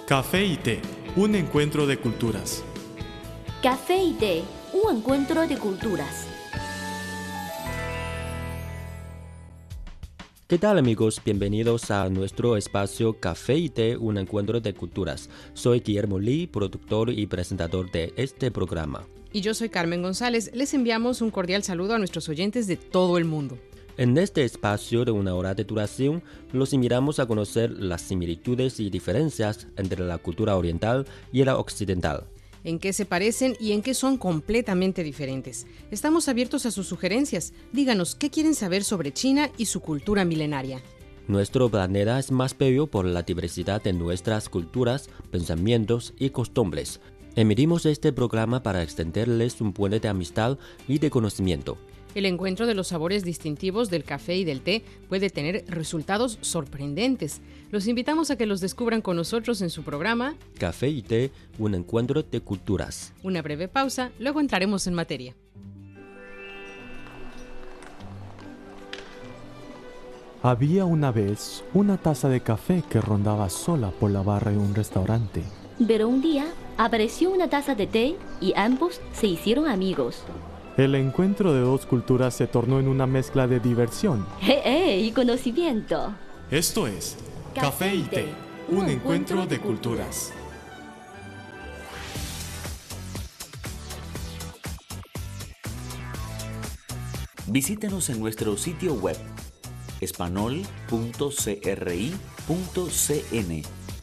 Café y té, un encuentro de culturas. Café y té, un encuentro de culturas. ¿Qué tal amigos? Bienvenidos a nuestro espacio Café y té, un encuentro de culturas. Soy Guillermo Lee, productor y presentador de este programa. Y yo soy Carmen González. Les enviamos un cordial saludo a nuestros oyentes de todo el mundo. En este espacio de una hora de duración, los invitamos a conocer las similitudes y diferencias entre la cultura oriental y la occidental. En qué se parecen y en qué son completamente diferentes. Estamos abiertos a sus sugerencias. Díganos qué quieren saber sobre China y su cultura milenaria. Nuestro planeta es más bello por la diversidad de nuestras culturas, pensamientos y costumbres. Emitimos este programa para extenderles un puente de amistad y de conocimiento. El encuentro de los sabores distintivos del café y del té puede tener resultados sorprendentes. Los invitamos a que los descubran con nosotros en su programa Café y té, un encuentro de culturas. Una breve pausa, luego entraremos en materia. Había una vez una taza de café que rondaba sola por la barra de un restaurante. Pero un día apareció una taza de té y ambos se hicieron amigos. El encuentro de dos culturas se tornó en una mezcla de diversión. Y conocimiento. Esto es Café y té, un encuentro de culturas. Visítenos en nuestro sitio web espanol.cri.cn.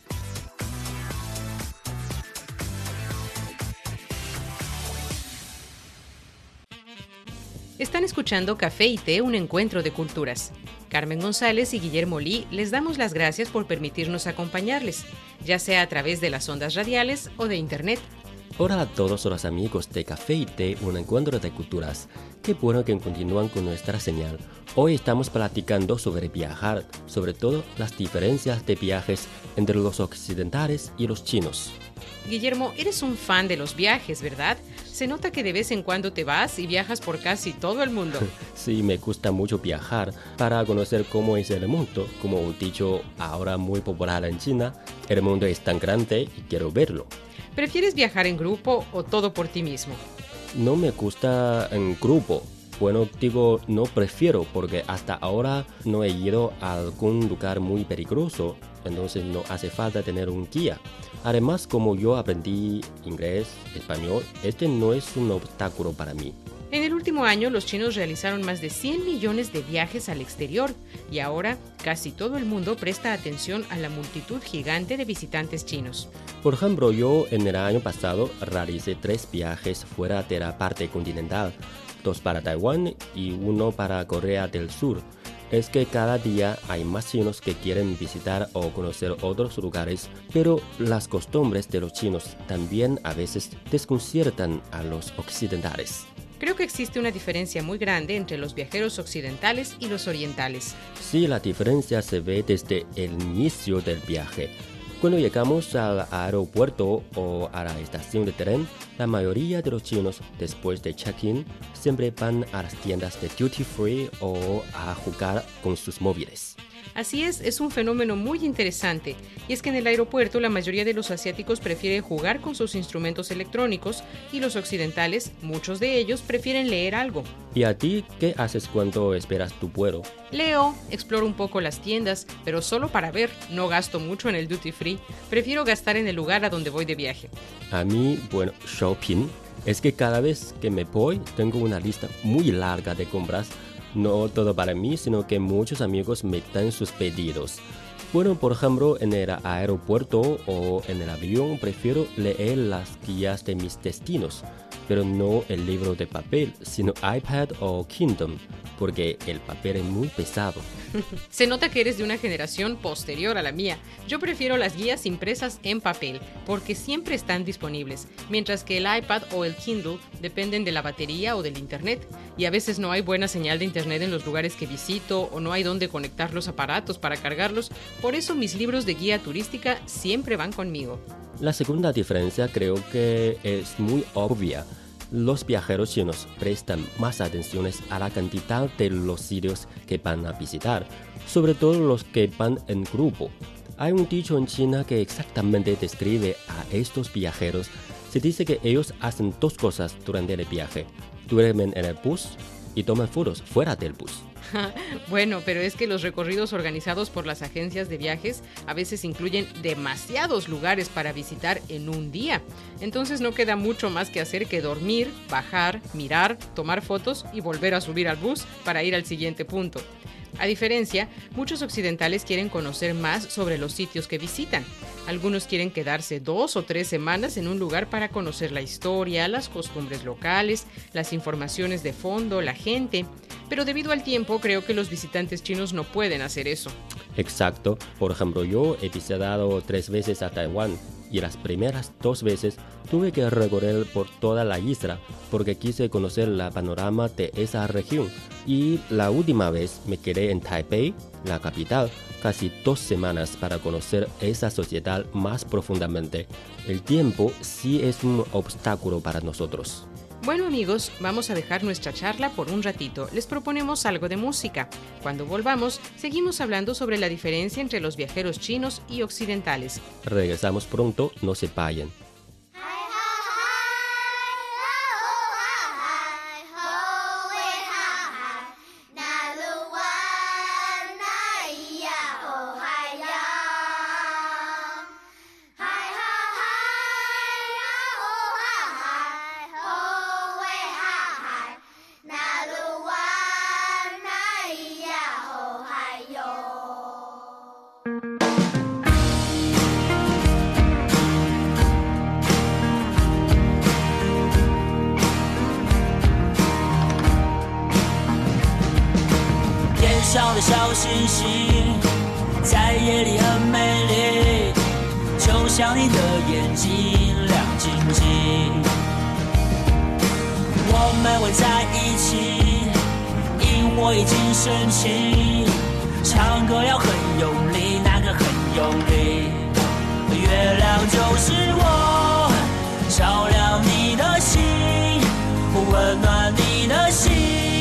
Están escuchando Café y té, un encuentro de culturas. Carmen González y Guillermo Lee les damos las gracias por permitirnos acompañarles, ya sea a través de las ondas radiales o de internet. Hola a todos los amigos de Café y té, un encuentro de culturas. Qué bueno que continúan con nuestra señal. Hoy estamos platicando sobre viajar, sobre todo las diferencias de viajes entre los occidentales y los chinos. Guillermo, eres un fan de los viajes, ¿verdad? Se nota que de vez en cuando te vas y viajas por casi todo el mundo. Sí, me gusta mucho viajar para conocer cómo es el mundo. Como un dicho ahora muy popular en China, el mundo es tan grande y quiero verlo. ¿Prefieres viajar en grupo o todo por ti mismo? No me gusta en grupo. Bueno, digo, no prefiero porque hasta ahora no he ido a algún lugar muy peligroso, entonces no hace falta tener un guía. Además, como yo aprendí inglés, español, este no es un obstáculo para mí. En el último año, los chinos realizaron más de 100 millones de viajes al exterior y ahora casi todo el mundo presta atención a la multitud gigante de visitantes chinos. Por ejemplo, yo en el año pasado realicé 3 viajes fuera de la parte continental, 2 para Taiwán y 1 para Corea del Sur. Es que cada día hay más chinos que quieren visitar o conocer otros lugares, pero las costumbres de los chinos también a veces desconciertan a los occidentales. Creo que existe una diferencia muy grande entre los viajeros occidentales y los orientales. Sí, la diferencia se ve desde el inicio del viaje. Cuando llegamos al aeropuerto o a la estación de tren, la mayoría de los chinos, después de check-in, siempre van a las tiendas de duty free o a jugar con sus móviles. Así es un fenómeno muy interesante, y es que en el aeropuerto la mayoría de los asiáticos prefieren jugar con sus instrumentos electrónicos y los occidentales, muchos de ellos, prefieren leer algo. ¿Y a ti qué haces cuando esperas tu vuelo? Leo, exploro un poco las tiendas, pero solo para ver, no gasto mucho en el duty free, prefiero gastar en el lugar a donde voy de viaje. A mí, bueno, shopping, es que cada vez que me voy tengo una lista muy larga de compras. No todo para mí, sino que muchos amigos me dan sus pedidos. Bueno, por ejemplo, en el aeropuerto o en el avión prefiero leer las guías de mis destinos, pero no el libro de papel, sino iPad o Kindle, porque el papel es muy pesado. Se nota que eres de una generación posterior a la mía. Yo prefiero las guías impresas en papel, porque siempre están disponibles, mientras que el iPad o el Kindle dependen de la batería o del internet, y a veces no hay buena señal de internet en los lugares que visito o no hay dónde conectar los aparatos para cargarlos. Por eso mis libros de guía turística siempre van conmigo. La segunda diferencia creo que es muy obvia. Los viajeros chinos prestan más atención a la cantidad de los sitios que van a visitar, sobre todo los que van en grupo. Hay un dicho en China que exactamente describe a estos viajeros. Se dice que ellos hacen dos cosas durante el viaje. Duermen en el bus y toman fotos fuera del bus. Bueno, pero es que los recorridos organizados por las agencias de viajes a veces incluyen demasiados lugares para visitar en un día. Entonces no queda mucho más que hacer que dormir, bajar, mirar, tomar fotos y volver a subir al bus para ir al siguiente punto. A diferencia, muchos occidentales quieren conocer más sobre los sitios que visitan. Algunos quieren quedarse 2 o 3 semanas en un lugar para conocer la historia, las costumbres locales, las informaciones de fondo, la gente. Pero debido al tiempo, creo que los visitantes chinos no pueden hacer eso. Exacto. Por ejemplo, yo he visitado 3 veces a Taiwán y las primeras 2 veces tuve que recorrer por toda la isla porque quise conocer la panorama de esa región. Y la última vez me quedé en Taipei, la capital, casi 2 semanas para conocer esa sociedad más profundamente. El tiempo sí es un obstáculo para nosotros. Bueno amigos, vamos a dejar nuestra charla por un ratito. Les proponemos algo de música. Cuando volvamos, seguimos hablando sobre la diferencia entre los viajeros chinos y occidentales. Regresamos pronto, no se vayan. 上的小星星在夜里很美丽，就像你的眼睛亮晶晶。我们会在一起，萤火已经升起，唱歌要很用力，那个很用力。月亮就是我，照亮你的心，温暖你的心。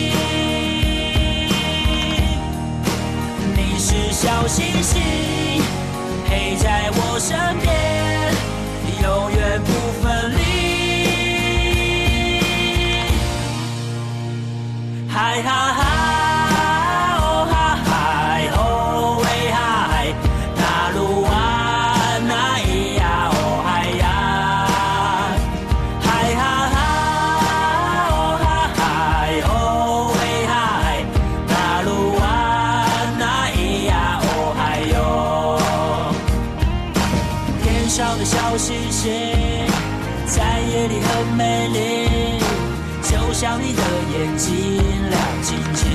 是小星星，陪在我身边，永远不分离。嗨哈哈，哦哈嗨，哦喂嗨，那鲁哇那咿呀，哦嗨呀，嗨哈哈，哦哈嗨，哦喂嗨，那鲁哇。上的小星星在夜里很美丽，就像你的眼睛亮晶晶。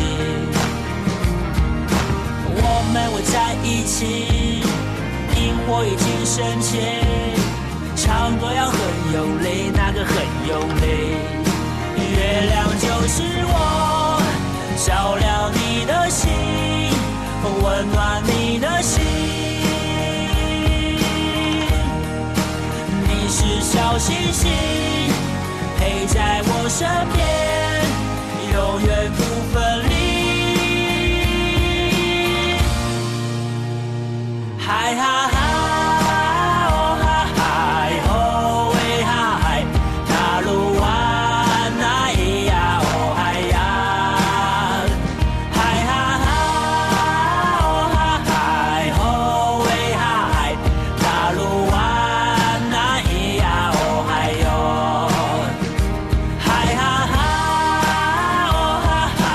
我们会在一起，萤火已经升起，唱歌要很用力，那个很用力。月亮就是我，照亮你的心，温暖你的心。是小星星，陪在我身边，永远不分离。嗨哈哈，哦哈嗨，哦喂嗨，那鲁哇那咿呀，哦嗨呀，嗨哈哈，哦哈嗨，哦喂嗨，那鲁哇。嗨哈哈，哦哈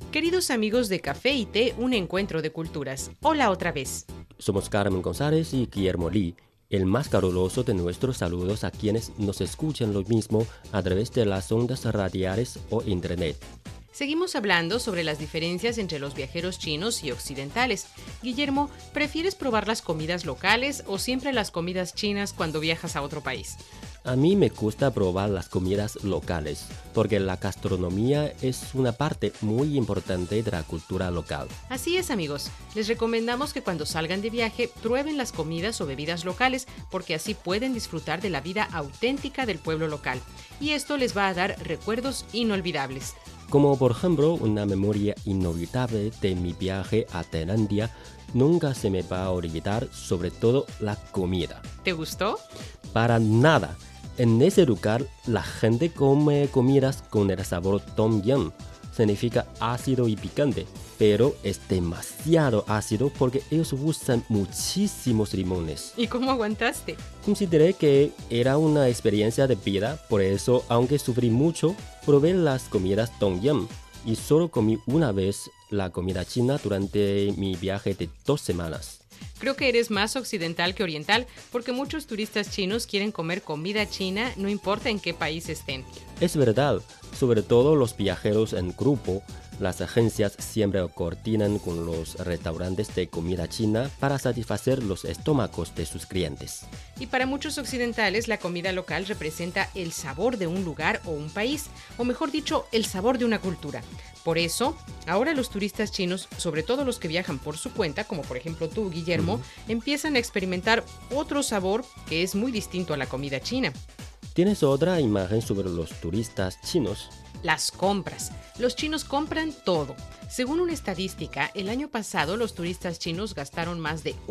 Queridos amigos de Café y Té, un encuentro de culturas. Hola otra vez. Somos Carmen González y Guillermo Lee, el más caluroso de nuestros saludos a quienes nos escuchan lo mismo a través de las ondas radiales o internet. Seguimos hablando sobre las diferencias entre los viajeros chinos y occidentales. Guillermo, ¿prefieres probar las comidas locales o siempre las comidas chinas cuando viajas a otro país? A mí me gusta probar las comidas locales, porque la gastronomía es una parte muy importante de la cultura local. Así es, amigos. Les recomendamos que cuando salgan de viaje prueben las comidas o bebidas locales, porque así pueden disfrutar de la vida auténtica del pueblo local. Y esto les va a dar recuerdos inolvidables. Como por ejemplo, una memoria inolvidable de mi viaje a Tailandia, nunca se me va a olvidar, sobre todo la comida. ¿Te gustó? Para nada. En ese lugar, la gente come comidas con el sabor tom yum. Significa ácido y picante, pero es demasiado ácido porque ellos usan muchísimos limones. ¿Y cómo aguantaste? Consideré que era una experiencia de vida, por eso, aunque sufrí mucho, probé las comidas tom yum y solo comí una vez la comida china durante mi viaje de 2 semanas. Creo que eres más occidental que oriental, porque muchos turistas chinos quieren comer comida china, no importa en qué país estén. Es verdad, sobre todo los viajeros en grupo, las agencias siempre coordinan con los restaurantes de comida china para satisfacer los estómagos de sus clientes. Y para muchos occidentales, la comida local representa el sabor de un lugar o un país, o mejor dicho, el sabor de una cultura. Por eso, ahora los turistas chinos, sobre todo los que viajan por su cuenta, como por ejemplo tú, Guillermo, empiezan a experimentar otro sabor que es muy distinto a la comida china. ¿Tienes otra imagen sobre los turistas chinos? Las compras. Los chinos compran todo. Según una estadística, el año pasado los turistas chinos gastaron más de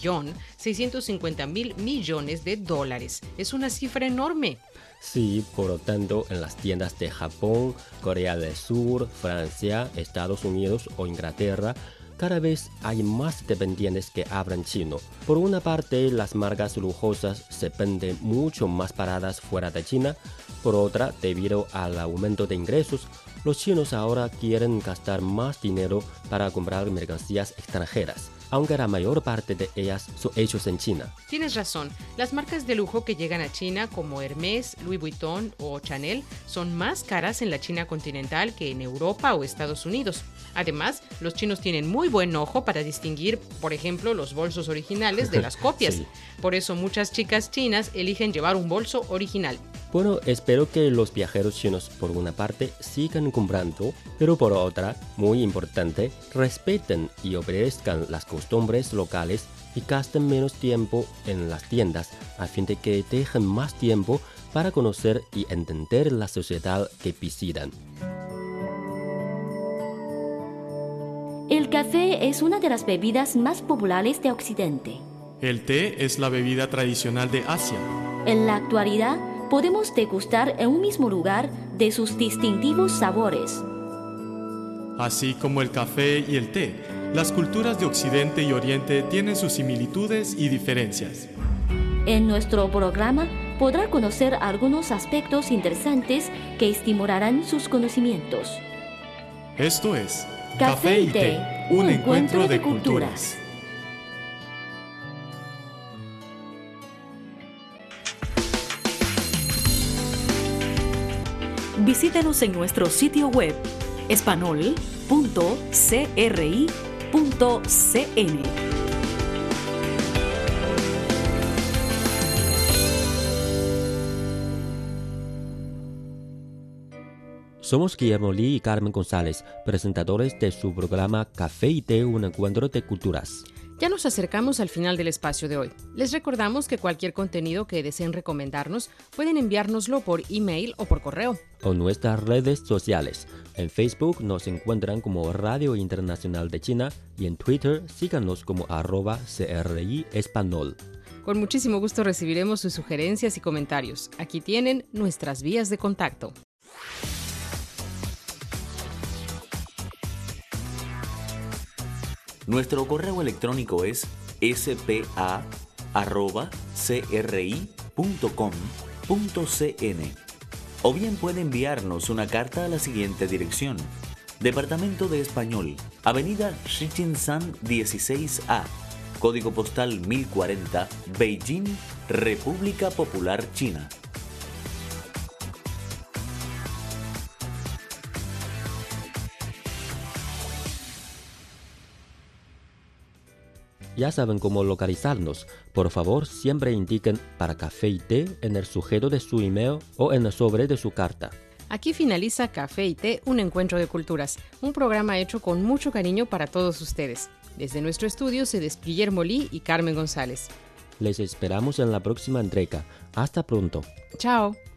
$1.650.000.000.000. Es una cifra enorme. Sí, por lo tanto, en las tiendas de Japón, Corea del Sur, Francia, Estados Unidos o Inglaterra, cada vez hay más dependientes que hablan chino. Por una parte, las marcas lujosas se venden mucho más baratas fuera de China. Por otra, debido al aumento de ingresos, los chinos ahora quieren gastar más dinero para comprar mercancías extranjeras, aunque la mayor parte de ellas son hechos en China. Tienes razón, las marcas de lujo que llegan a China como Hermès, Louis Vuitton o Chanel son más caras en la China continental que en Europa o Estados Unidos. Además, los chinos tienen muy buen ojo para distinguir, por ejemplo, los bolsos originales de las copias. Sí. Por eso muchas chicas chinas eligen llevar un bolso original. Bueno, espero que los viajeros chinos por una parte sigan comprando, pero por otra, muy importante, respeten y obedezcan las costumbres locales y gasten menos tiempo en las tiendas a fin de que dejen más tiempo para conocer y entender la sociedad que visitan. El café es una de las bebidas más populares de Occidente. El té es la bebida tradicional de Asia. En la actualidad, podemos degustar en un mismo lugar de sus distintivos sabores. Así como el café y el té, las culturas de Occidente y Oriente tienen sus similitudes y diferencias. En nuestro programa podrá conocer algunos aspectos interesantes que estimularán sus conocimientos. Esto es Café y Té, un encuentro de culturas. Visítenos en nuestro sitio web espanol.cri.cn. Somos Guillermo Lee y Carmen González, presentadores de su programa Café y Té, un encuentro de culturas. Ya nos acercamos al final del espacio de hoy. Les recordamos que cualquier contenido que deseen recomendarnos pueden enviárnoslo por email o por correo. O nuestras redes sociales. En Facebook nos encuentran como Radio Internacional de China y en Twitter síganos como @CRI Espanol. Con muchísimo gusto recibiremos sus sugerencias y comentarios. Aquí tienen nuestras vías de contacto. Nuestro correo electrónico es spa@cri.com.cn o bien puede enviarnos una carta a la siguiente dirección: Departamento de Español, Avenida Shijinshan 16A, Código Postal 1040, Beijing, República Popular China. Ya saben cómo localizarnos. Por favor, siempre indiquen para café y té en el sujeto de su email o en el sobre de su carta. Aquí finaliza Café y Té, un encuentro de culturas, un programa hecho con mucho cariño para todos ustedes. Desde nuestro estudio se despide Guillermo Lee y Carmen González. Les esperamos en la próxima entrega. Hasta pronto. Chao.